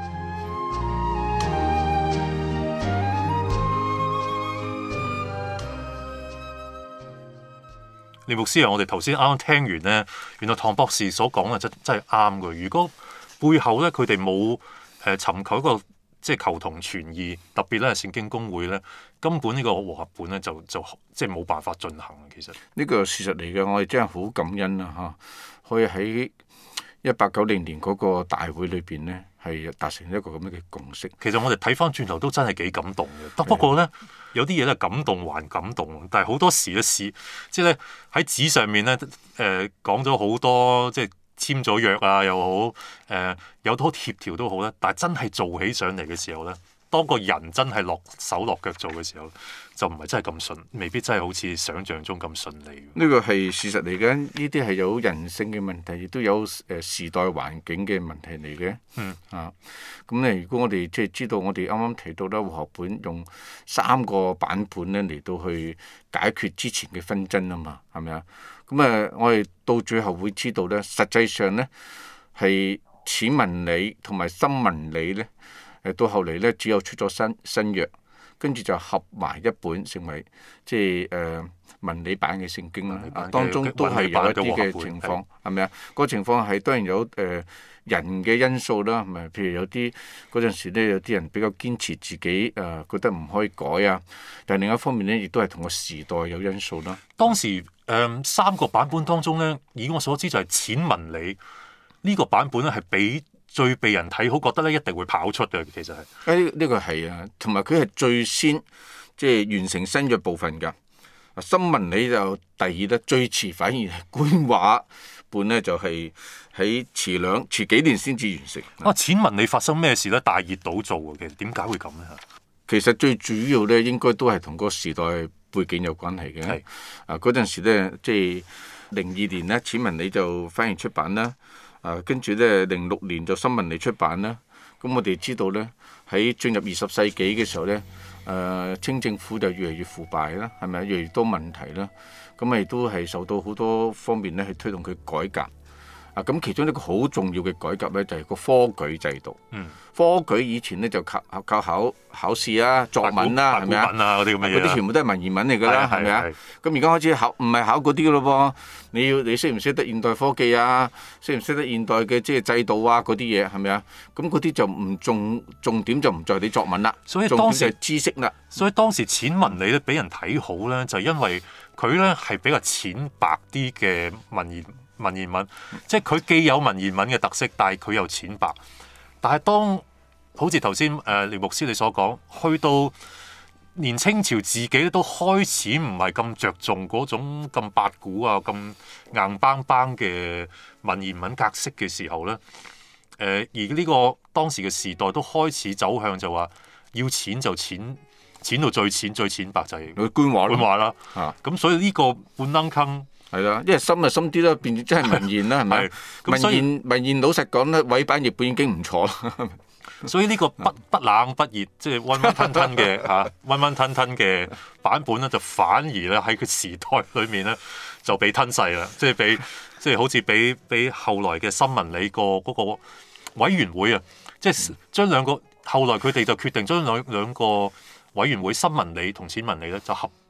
李牧師啊，我哋頭先啱啱聽完咧，原來唐博士所講嘅真真係啱嘅。如果背後咧佢哋冇誒尋求一個即係求同存異，特別咧聖經公會咧，根本呢個和合本咧就就即係冇辦法進行。其實呢個事實嚟嘅，我哋真係好感恩啊！嚇，可以喺一八九零年嗰個大會裏邊咧，係達成一個咁樣嘅共識。 其實我哋睇翻轉頭都真係幾感動嘅。不過咧，的有啲嘢咧感動還感動，但係好多時嘅事，即係咧喺紙上面咧誒講咗好多，即係簽咗約啊又好，誒、呃、有好協調都好咧。但係真係做起上嚟嘅時候咧，當個人真係落手落腳做嘅時候，就唔係真係咁順，未必真係好似想像中咁順利。 呢個係事實嚟嘅，呢啲係有人性嘅問題，亦都有誒時代環境嘅問題嚟嘅。 嗯啊，咁咧，如果我哋即係知道，我哋啱啱提到啦，和合本用三個版本咧嚟到去解決之前嘅紛爭啊嘛，係咪啊？咁啊，我哋到最後會知道咧，實際上咧係淺文理同埋深文理咧，誒到後嚟咧只有出咗新新約。跟住就合埋一本，成為即係誒、呃、文理版嘅聖經啦。當中都係有一啲嘅情況，係咪啊？嗰個情況係當然有誒、呃、人嘅因素啦，係咪？譬如有啲嗰陣時咧，有啲人比較堅持自己誒、呃、覺得唔可以改啊。但係另一方面咧，亦都係同個時代有因素啦。 當時誒、呃、三個版本當中咧，以我所知就係淺文理呢、這個版本咧係比最被人睇好，覺得咧一定會跑出嘅，其實係。 誒呢個係啊，同埋佢係最先即係完成新約部分㗎。深文理就第二咧，最遲反而係官話本咧，就係喺遲兩遲幾年先至完成。 啊，淺文理發生咩事咧？大熱倒灶嘅，其實點解會咁咧？ 其實最主要咧，應該都係同個時代背景有關係嘅。係啊，嗰陣時咧，即係零二年咧，淺文理就翻譯出版啦。啊，跟住咧，零六年就深文理出版啦。咁我哋知道咧，喺進入二十世紀嘅時候咧，誒、呃、清政府就越嚟越腐敗啦，係咪？越嚟越多問題啦。咁亦都係受到好多方面咧去推動佢改革。啊，咁其中一個好重要嘅改革咧，就係、是、個科舉制度。嗯。科舉以前咧就靠靠考考試啊、作文啦，係咪啊？ 嗰啲咁嘅嘢。 嗰啲全部都係文言文嚟㗎啦，係咪啊？咁而家開始考，唔係考嗰啲㗎咯噃。你要你識唔識得現代科技啊？識唔識得現代嘅即係制度啊？嗰啲嘢係咪啊？咁嗰啲就唔重重點就唔在你作文啦。 所以當時係知識啦。 所以當時淺文理咧俾人睇好咧，就係、因為佢咧係比較淺白啲嘅文言文言文，即係佢既有文言文嘅特色，但係佢又淺白。但係當好似頭先誒廖牧師你所講，去到連清朝自己都開始唔係咁着重嗰種咁八股啊、咁硬邦邦嘅文言文格式嘅時候咧，誒、呃、而呢個當時嘅時代都開始走向就話要淺就淺，淺到最淺最淺白就係官話官話啦。 啊， 咁所以呢個半愣坑係啦，因為深就深啲啦，變咗真係文言啦，係咪？文言文言老實講咧，委版譯本已經唔錯啦。 所以呢個不不冷不熱，即係溫溫吞吞嘅嚇，溫溫吞吞嘅版本咧，就反而咧喺個時代裏面咧就被吞噬啦，即係被即係好似俾俾後來嘅深文理個嗰個委員會啊，即係將兩個後來佢哋就決定將兩兩個委員會深文理同淺文理咧就合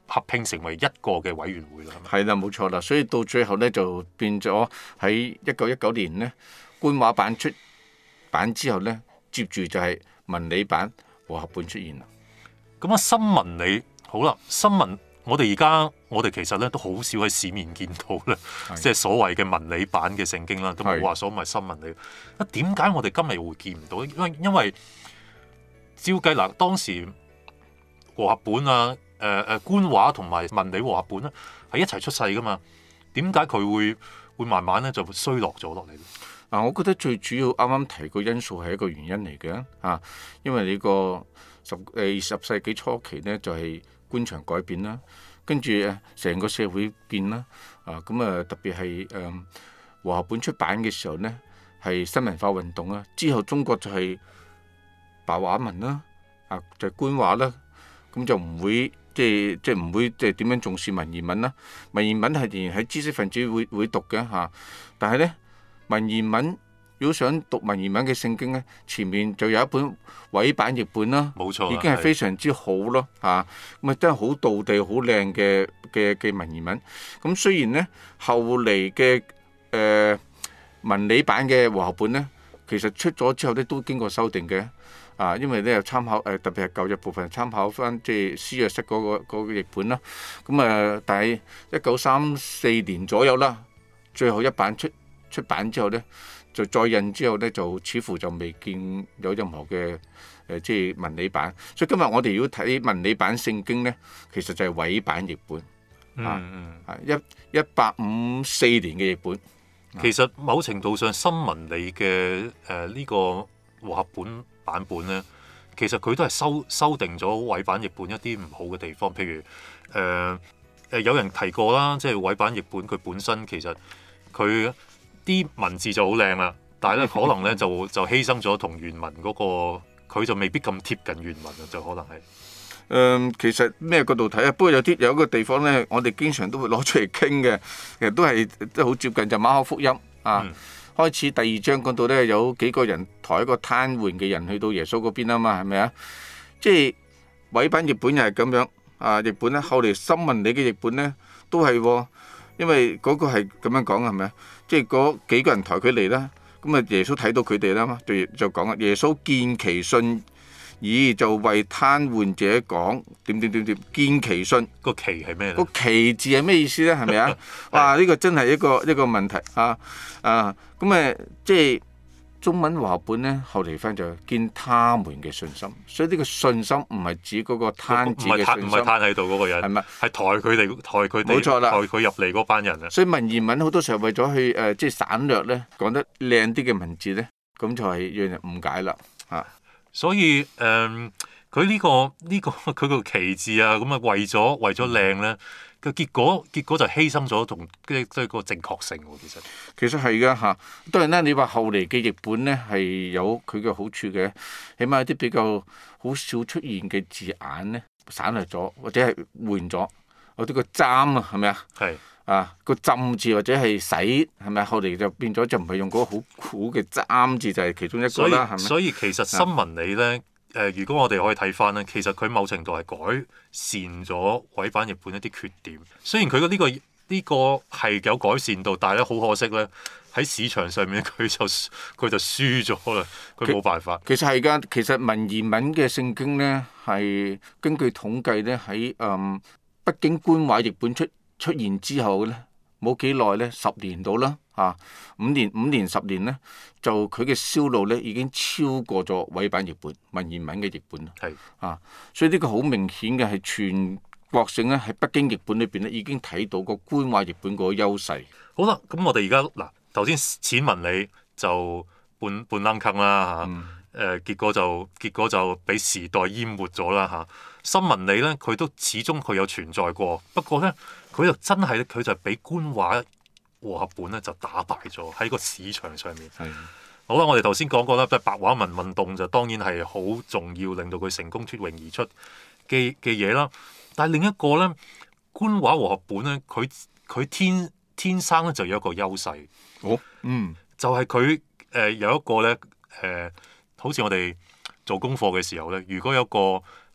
合併成為一個嘅委員會啦。 係啦，冇錯啦。所以到最後咧就變咗喺一九一九年咧官話版出版之後咧，接住就係文理版和合本出現啦。 咁啊，新文理好啦，新文我哋而家我哋其實咧都好少喺市面見到咧，即係所謂嘅文理版嘅聖經啦，都冇話所謂新文理。啊，點解我哋今日會見唔到？因為因為照計嗱，當時和合本啊、誒、呃、誒官話同埋文理和合本咧係一齊出世噶嘛，點解佢會會慢慢咧就衰落咗落嚟咧？ 嗱，我覺得最主要啱啱提個因素係一個原因嚟嘅啊，因為你個十誒二十世紀初期咧就係、是、官場改變啦，跟住誒成個社會變啦，啊咁啊特別係誒和合本出版嘅時候咧係新文化運動啦，之後中國就係白話文啦，啊就係、是、官話啦，咁就唔會即係即係唔會即係點樣重視文言文啦，文言文係仍然喺知識分子會會讀嘅嚇、啊，但係咧。文言文如果想讀文言文嘅聖經咧，前面就有一本委版譯本啦， 冇錯， 已經係非常之好咯嚇，咁啊真係好道地、好靚嘅嘅嘅文言文。咁雖然咧後嚟嘅誒文理版嘅和合本咧，其實出咗之後咧都經過修訂嘅啊，因為咧又參考誒、呃、特別係舊約部分參考翻即係施約瑟嗰個嗰、嗰個譯本啦。咁啊，但係一九三四年左右啦，最後一版出。出版之後咧，就再印之後咧，就似乎就未見有任何嘅誒、呃，即係文理版。所以今日我哋如果睇文理版聖經咧，其實就係委版譯本， 嗯、 啊，一一八五四年嘅譯本。 其實某程度上，新文理嘅誒呢個和合本版本咧，其實佢都係修修訂咗委版譯本一啲唔好嘅地方，譬如誒誒、呃呃、有人提過啦，即係委版譯本佢本身其實佢。啲文字就好靚啦，但係咧可能咧就就犧牲咗同原文嗰、嗰個，佢就未必咁貼近原文啊，就可能係。誒、 嗯，其實咩角度睇啊？不過有啲有一個地方咧，我哋經常都會攞出嚟傾嘅，其實都係都好接近就馬可福音啊。嗯、開始第二章講到咧，有幾個人抬一個癱瘓嘅人去到耶穌嗰邊啊嘛，係咪啊？即係委版譯本又係咁樣啊，譯本咧後嚟新文理嘅譯本咧都係、哦，因為嗰個係咁樣講係咪啊？即係嗰幾個人抬佢嚟啦，咁啊耶穌睇到佢哋啦嘛，就就講啊，耶穌見其信，咦就為癱瘓者講點點點點，見其信個其係咩咧？ 個其字係咩意思咧？係咪啊？哇！呢、呢個真係一個一個問題啊啊！咁誒即係中文和合本咧，後嚟翻就見他們嘅信心，所以呢個信心唔係指嗰個癱字嘅信心， 唔係癱喺度嗰個人，係咪？係抬佢哋，抬佢哋， 冇錯啦， 抬佢入嚟嗰班人啊！ 所以文言文好多時候為咗去誒、呃，即係省略咧，講得靚啲嘅文字咧，咁就係讓人誤解啦啊！ 所以誒，佢、呃、呢、呢個呢、呢個佢個其字啊，咁啊為咗為咗靚咧。個結果結果就犧牲咗同即係個正確性喎，其實其實係㗎嚇。當然啦，你話後嚟嘅譯本咧係有佢嘅好處嘅，起碼有啲比較好少出現嘅字眼咧省略咗，或者係換咗，有啲個針啊，係咪啊？係啊，個浸字或者係洗係咪？後嚟就變咗就唔係用嗰個好苦嘅針字，就係其中一個啦，係咪？ 所以其實新文理咧。誒、呃，如果我哋可以睇翻咧，其實佢某程度係改善咗委版譯本一啲缺點。雖然佢嘅呢個呢、呢個係有改善到，但係咧好可惜咧，喺市場上面佢就佢就輸咗啦。佢冇辦法。其實係㗎， 其實文言文嘅聖經咧係根據統計咧喺誒北京官話譯本出出現之後咧，冇幾耐咧，十年到啦嚇，五年五年十年咧。就佢嘅銷路咧已經超過咗委版譯本文言文嘅譯本啦，係啊，所以呢個好明顯嘅係全國性咧喺北京譯本裏邊咧已經睇到個官話譯本嗰個優勢。 好啦，咁我哋而家嗱頭先淺文理就半半冷坑啦嚇，誒、嗯呃、結果就結果就俾時代淹沒咗啦嚇。新文理咧佢都始終佢有存在過，不過咧佢就真係咧佢就俾官話和合本咧就打敗咗喺個市場上面。係的好啦，我哋頭先講過啦，即係白話文運動就當然係好重要，令到佢成功脫穎而出嘅嘅嘢啦。但係另一個咧，官話和合本咧，佢佢天天生咧就有一個優勢。 哦，嗯， 就係佢誒有一個咧誒、呃，好似我哋做功課嘅時候咧，如果有個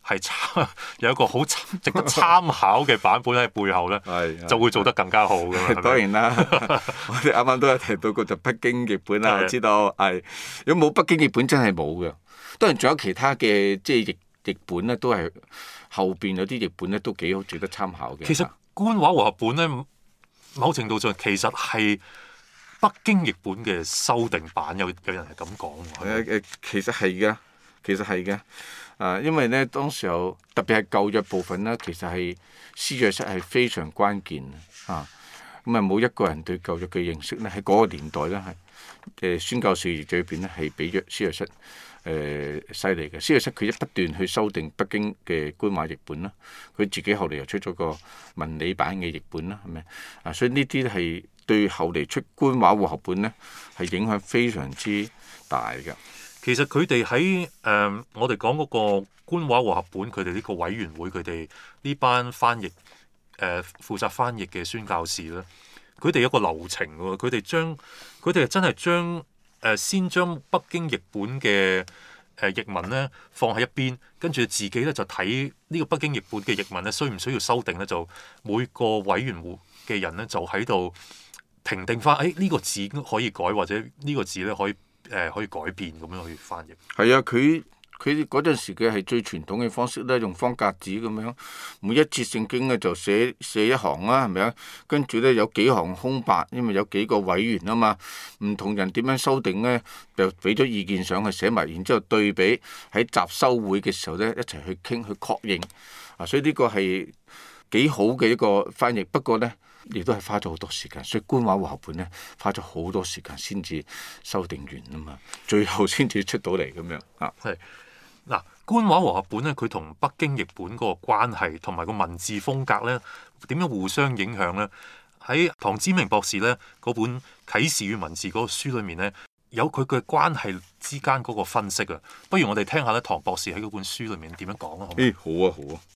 係參有一個好值得參考嘅版本喺背後咧，就會做得更加好嘅。 當然啦，我哋啱啱都有提到過就北京譯本啦，我知道係如果冇北京譯本真係冇嘅。當然仲有其他嘅即係譯譯本咧，都係後邊有啲譯本咧都幾好值得參考嘅。 其實官話和合本咧，某程度上其實係北京譯本嘅修訂版，有有人係咁講。 誒誒，其實係嘅，其實係嘅。啊，因為咧當時候特別係舊約部分咧，其實係施約瑟係非常關鍵啊。咁啊，冇一個人對舊約嘅認識咧，喺嗰個年代咧係誒宣教士裏邊咧係比約施約瑟誒犀利嘅。施約瑟佢一不斷去修訂北京嘅官話譯本啦，佢自己後嚟又出咗個文理版嘅譯本啦，係咪啊？所以呢啲係對後嚟出官話和合本咧係影響非常之大嘅。 其實佢哋喺誒我哋講嗰個官話和合本，佢哋呢個委員會，佢哋呢班翻譯誒、呃、負責翻譯嘅宣教士咧，佢哋有個流程喎，佢哋將佢哋真係將誒、呃、先將北京譯本嘅誒、呃、譯文咧放喺一邊，跟住自己咧就睇呢個北京譯本嘅譯文咧需唔需要修訂咧，就每個委員會嘅人咧就喺度評定翻，誒、哎、呢、呢個字可以改，或者呢個字咧可以。誒、呃、可以改變咁樣去翻譯。 係啊，佢佢嗰陣時嘅係最傳統嘅方式咧，用方格紙咁樣，每一節聖經咧就寫寫一行啦，係咪啊？跟住咧有幾行空白，因為有幾個委員啊嘛，唔同人點樣修訂咧，就俾咗意見上去寫埋，然之後對比喺集修會嘅時候咧一齊去傾去確認。啊，所以呢個係幾好嘅一個翻譯，不過咧。亦都係花咗好多時間，所以官話和合本咧花咗好多時間先至修訂完啊嘛，最後先至出到嚟咁樣啊。 係嗱，官話和合本咧，佢同北京譯本嗰個關係同埋個文字風格咧，點樣互相影響咧？喺唐子明博士咧嗰本《啟示與文字》嗰個書裏面咧，有佢嘅關係之間嗰個分析啊。不如我哋聽下咧，唐博士喺嗰本書裏面點樣講啊？好， 誒，好啊，好啊。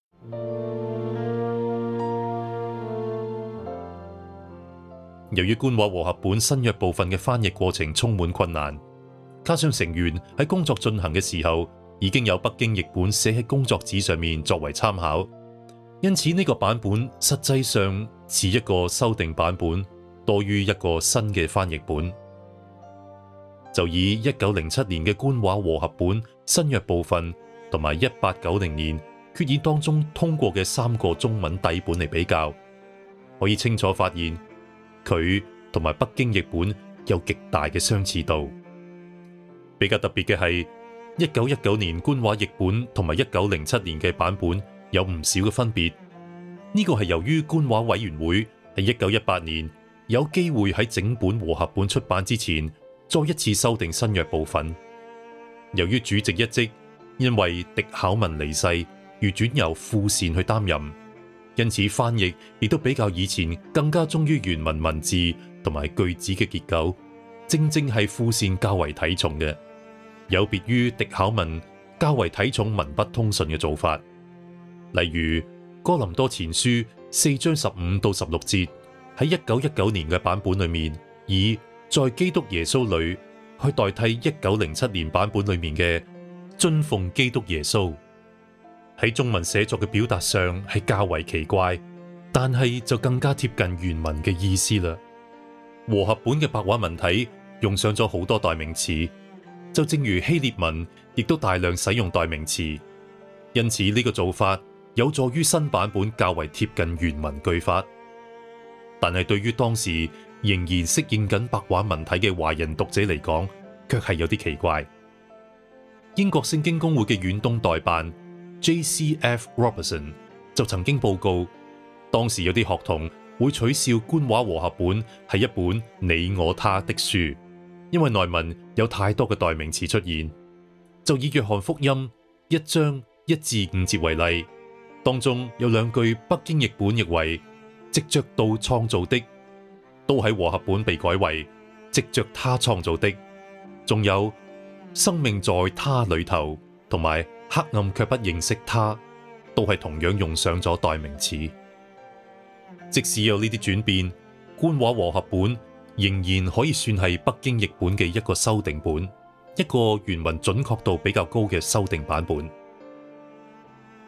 由於官話和合本新約部分嘅翻譯過程充滿困難，加上成員喺工作進行嘅時候已經有北京譯本寫喺工作紙上面作為參考，因此呢個版本實際上似一個修訂版本多於一個新嘅翻譯本。就以一九零七年嘅官話和合本新約部分同埋一八九零年決議當中通過嘅三個中文底本嚟比較，可以清楚發現佢同埋北京譯本有極大嘅相似度。比較特別嘅係，一九一九年官話譯本同埋一九零七年嘅版本有唔少嘅分別。呢個係由於官話委員會喺一九一八年有機會喺整本和合本出版之前再一次修訂新約部分。由於主席一職因為狄考文離世而轉由傅善去擔任，因此翻譯亦都比較以前更加忠於原文文字同埋句子嘅結構，正正係傅善較為睇重嘅，有別於狄考文較為睇重文筆通順嘅做法。例如哥林多前書四章十五到十六節喺一九一九年嘅版本裏面，以在基督耶穌裏去代替一九零七年版本裏面嘅遵奉基督耶穌。喺中文寫作嘅表達上係較為奇怪，但係就更加貼近原文嘅意思啦。和合本嘅白話文體用上咗好多代名詞，就正如希臘文亦都大量使用代名詞，因此呢個做法有助於新版本較為貼近原文句法。但係對於當時仍然適應緊白話文體嘅華人讀者嚟講，卻係有啲奇怪。英國聖經公會嘅遠東代辦J C F Robertson 就曾經報告，當時有啲學童會取笑官話和合本係一本你我他的書，因為內文有太多嘅代名詞出現。就以約翰福音一章一至五節為例，當中有兩句北京譯本譯為藉着道創造的，都喺和合本被改為藉着他創造的。仲有生命在他裏頭，同埋黑暗卻不認識他，都係同樣用上咗代名詞。即使有呢啲轉變，官話和合本仍然可以算係北京譯本嘅一個修訂本，一個原文準確度比較高嘅修訂版本。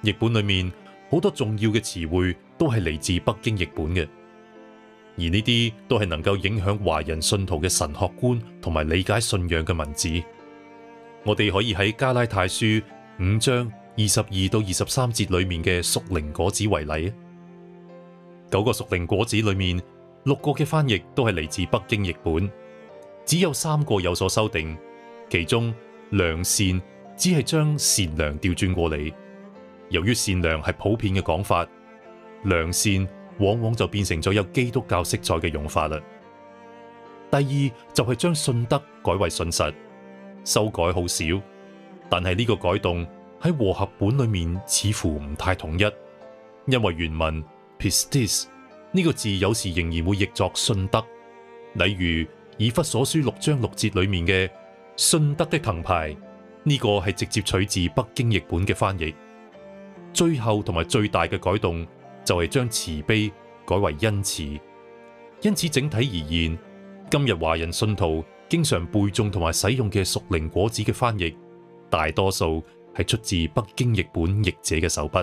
譯本裏面好多重要嘅詞彙都係嚟自北京譯本嘅，而呢啲都係能夠影響華人信徒嘅神學觀同埋理解信仰嘅文字。我哋可以喺加拉太書五章二十二到二十三節裏面嘅屬靈果子為例。九個屬靈果子裏面，六個嘅翻譯都係嚟自北京譯本，只有三個有所修訂。其中良善只係將善良調轉過嚟，由於善良係普遍嘅講法，良善往往就變成咗有基督教色彩嘅用法啦。第二就係將信德改為信實，修改好少，但係呢個改動喺和合本裏面似乎唔太統一，因為原文 pistis 呢個字有時仍然會譯作信德，例如以弗所書六章六節裏面嘅信德的藤牌，呢個係直接取自北京譯本嘅翻譯。最後同埋最大嘅改動就係將慈悲改為恩慈。因此整體而言，今日華人信徒經常背誦同埋使用嘅屬靈果子嘅翻譯，大多數係出自北京譯本譯者嘅手筆。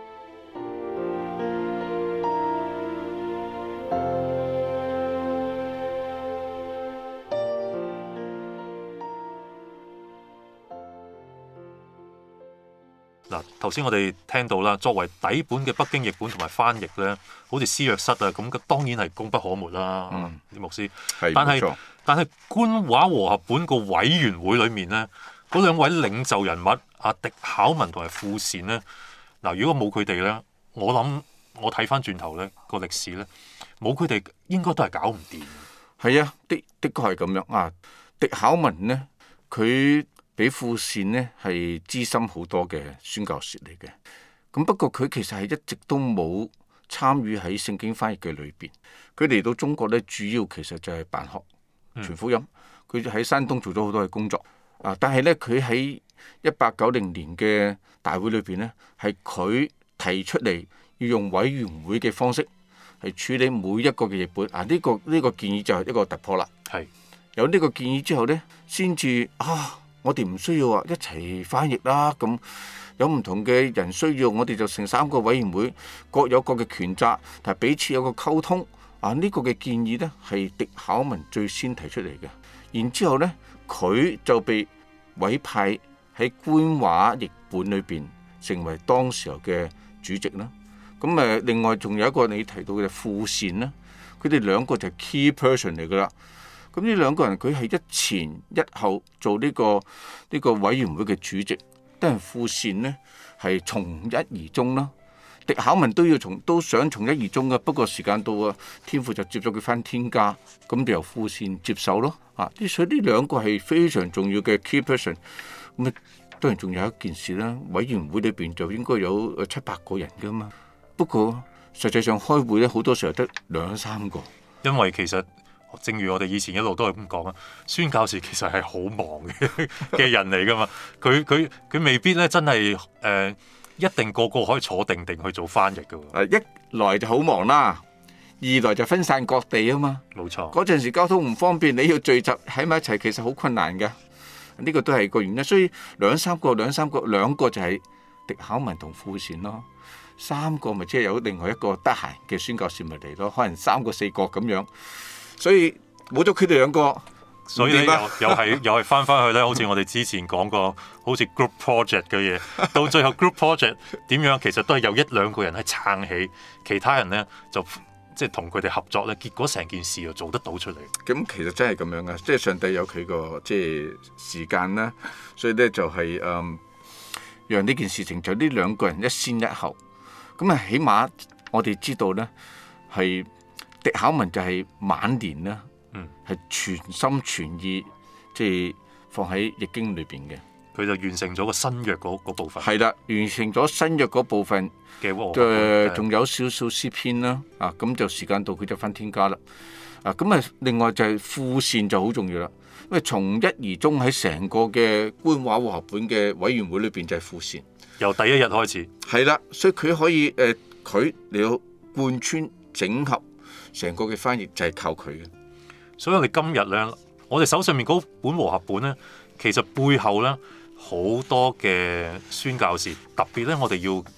嗱，頭先我哋聽到啦，作為底本嘅北京譯本同埋翻譯咧，好似施約瑟啊，咁當然係功不可沒啦。嗯，啲牧師， 係但係冇錯但係官話和合本個委員會裏面咧，嗰兩位領袖人物阿狄考文同埋傅善咧，嗱，如果冇佢哋咧，我諗我睇翻轉頭咧個歷史咧，冇佢哋應該都係搞唔掂。 係啊，的的確係咁樣啊。狄考文呢，佢比傅善呢係資深好多嘅宣教士嚟嘅。咁不過佢其實係一直都冇參與喺聖經翻譯嘅裏邊。佢嚟到中國咧，主要其實就係辦學、傳福音。佢喺山東做咗好多嘅工作。啊，但係咧佢喺一八九零年嘅大會裏邊咧，係佢提出嚟要用委員會嘅方式係處理每一個嘅譯本。啊，呢、這個呢、這個建議就係一個突破啦。係有呢個建議之後咧，先至啊。我哋唔需要話一齊翻譯啦，咁有唔同嘅人需要，我哋就成三個委員會，各有各嘅權責，但係彼此有個溝通。啊，呢、這個嘅建議呢，係狄考文最先提出嚟嘅，然之後呢，佢就被委派喺官話譯本裏邊成為當時候嘅主席啦。咁誒，另外仲有一個你提到嘅傅善啦，佢哋兩個就係 key person 嚟噶啦。咁呢兩個人佢係一前一後做呢、這個呢、這個委員會嘅主席，但係傅善呢係從一而終啦。狄考文都要從都想從一而終嘅，不過時間到啊，天父就接咗佢返天家，咁就由傅善接手咯。啊，所以呢兩個係非常重要嘅 key person。咁啊，當然仲有一件事啦，委員會裏邊就應該有七八個人噶嘛。不過實際上開會咧，好多時候得兩三個， 因為其實。正如我哋以前一路都係咁講啊，宣教士其實係好忙嘅嘅人嚟噶嘛，佢佢佢未必咧真係誒、呃、一定個個可以坐定定去做翻譯噶喎。 一來就好忙啦，二來就分散各地啊嘛。 冇錯， 嗰陣時交通唔方便，你要聚集喺埋一齊，其實好困難噶。呢、這個都係個原因，所以兩三個兩三個兩個就係狄考文同傅善咯，三個咪即係有另外一個得閒嘅宣教士咪嚟咯，可能三個四個咁樣。所以冇咗佢哋兩個， 所以咧又又係又係翻翻去咧，好似我哋之前講過，好似 group project 嘅嘢，到最後 group project 點樣，其實都係有一兩個人係撐起，其他人咧就即係同佢哋合作咧，結果成件事又做得到出嚟。 咁其實真係咁樣噶，即係上帝有佢個即係時間啦，所以咧就係、是、誒、嗯，讓呢件事情就呢兩個人一先一後，咁啊起碼我哋知道咧係。狄考文就係晚年啦，係、嗯、全心全意即係放喺譯經裏邊嘅，佢就完成咗個新約嗰部分。 係啦，完成咗新約嗰部分嘅，誒仲有少少詩篇啦，啊咁就時間到佢就返天家啦，啊咁啊另外就係傅善就好重要啦，因為從一而終喺成個嘅官話和合本嘅委員會裏邊就係傅善， 由第一日開始。係啦，所以佢可以誒佢嚟到貫穿整合。成個嘅翻譯就係靠佢嘅， 所以我哋今日咧，我哋手上面嗰本和合本咧，其實背後咧好多嘅宣教士，特別咧我哋要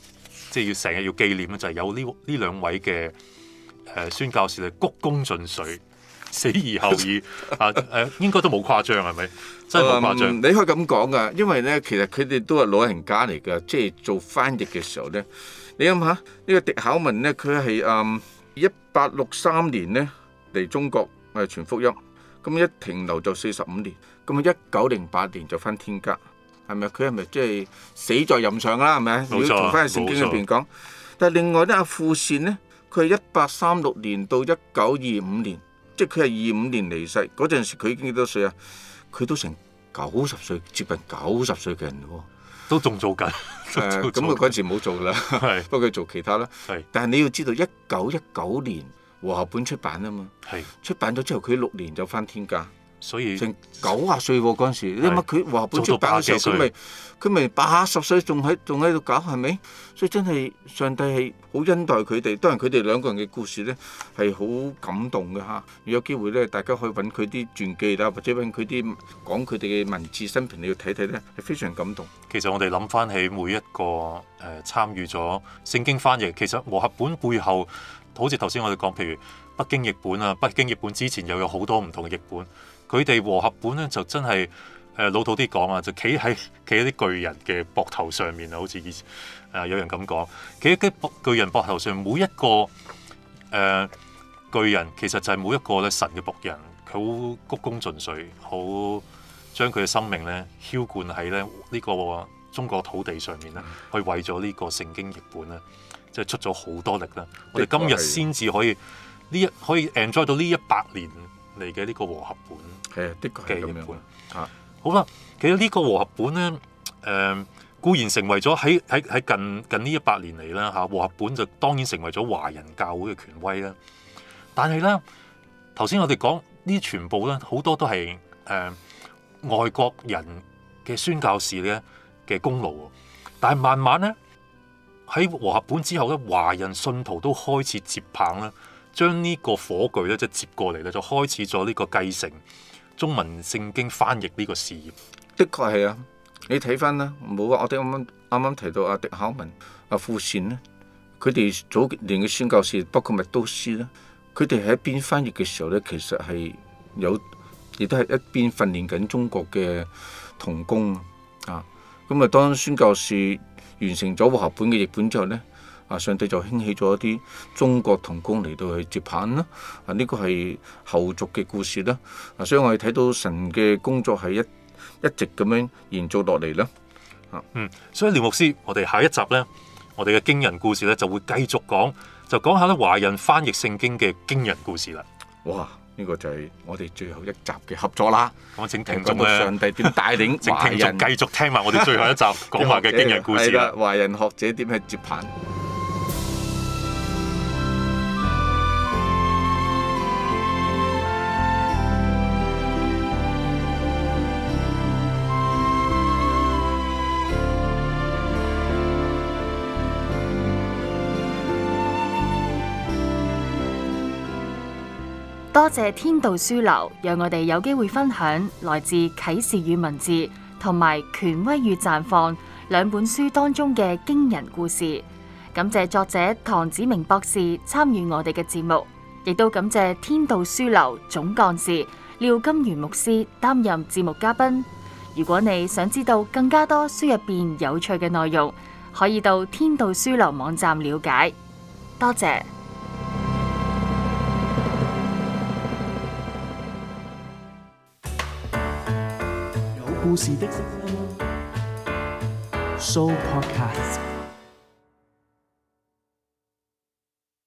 即係要成日要紀念咧，就係有呢呢兩位嘅誒、呃、宣教士咧，鞠躬盡瘁，死而後已啊誒、呃，應該都冇誇張係咪？真係冇誇張、 嗯。你可以咁講噶，因為咧，其實佢哋都係老人家嚟㗎，即係做翻譯嘅時候咧，你諗下呢、呢個狄考文咧，佢係誒一八六三年咧嚟中國誒傳福音，咁一停留就四十五年，咁一九零八年就返天家。係咪？佢係咪即係死在任上啦？係咪？如果從翻去聖經裏邊講，但係另外咧，阿富善咧，佢係一八三六年到一九二五年，即係佢係二五年離世嗰陣時，佢已經幾多歲啊？佢都成九十歲，接近九十歲嘅人喎， 都仲做緊。 誒，咁佢嗰陣時冇做啦， 係不過佢做其他啦。 係， 但係你要知道，一九一九年和合本出版啊嘛， 係出版咗之後，佢六年就翻天家。 所以成九十歲喎嗰陣時，你諗下佢和合本出版嘅時候，佢咪佢咪八十歲仲喺仲喺度搞係咪？所以真係上帝係好恩待佢哋。當然佢哋兩個人嘅故事咧係好感動嘅嚇。如果有機會咧，大家可以揾佢啲傳記啦，或者揾佢啲講佢哋嘅文字生平，你要睇睇咧，係非常感動。 其實我哋諗翻起每一個誒、呃、參與咗聖經翻譯，其實和合本背後，好似頭先我哋講，譬如北京譯本啊，北京譯本之前又有好多唔同嘅譯本。佢哋和合本咧就真係誒、呃、老土啲講啊，就企喺企喺啲巨人嘅膊頭上面啊，好似以前誒、呃、有人咁講，企喺啲巨人膊頭上，每一個誒、呃、巨人其實就係每一個咧神嘅僕人，佢好鞠躬盡瘁，好將佢嘅生命咧澆灌喺咧呢個中國土地上面咧，去為咗呢個聖經譯本咧，即係出咗好多力啦。我哋今日先至可以呢一可以 enjoy 到呢一百年嚟嘅呢個和合本。 係啊，的確係咁樣啊。 好啦，其實呢個和合本咧，誒、呃、固然成為咗喺喺喺近近呢一百年嚟啦嚇，和合本就當然成為咗華人教會嘅權威啦。但係咧，頭先我哋講呢啲全部咧，好多都係誒、呃、外國人嘅宣教士咧嘅功勞。但係慢慢咧喺和合本之後咧，華人信徒都開始接棒啦，將呢個火炬咧即係接過嚟咧，就開始咗呢個繼承中文聖經翻譯呢個事業。 的確係啊，你睇翻啦，冇啊！我哋啱啱啱啱提到阿狄考文、阿富善咧，佢哋早年嘅宣教士，包括麥都斯咧，佢哋喺一邊翻譯嘅時候咧，其實係有，亦都係一邊訓練緊中國嘅同工啊。咁啊，當宣教士完成咗和合本嘅譯本之後咧，啊，上帝就興起咗一啲中國同工嚟到去接棒啦。啊，呢個係後續嘅故事啦。啊，所以我哋睇到神嘅工作係一一直咁樣延續落嚟啦。啊， 嗯，所以廖牧師，我哋下一集咧，我哋嘅驚人故事咧就會繼續講，就講下咧華人翻譯聖經嘅驚人故事啦。 哇！呢個就係我哋最後一集嘅合作啦。 咁請聽眾咧， 上帝點帶領請華人聽眾繼續聽埋我哋最後一集講話嘅驚人故事啦。 華人學者點去接棒？ 多謝天道書樓，讓我哋有機會分享來自啟示與文字同埋權威與綻放兩本書當中嘅驚人故事。感謝作者唐子明博士參與我哋嘅節目，亦都感謝天道書樓總幹事廖金源牧師擔任節目嘉賓。如果你想知道更加多書入邊有趣嘅內容，可以到天道書樓網站了解。多謝。 故事的 Show Podcast。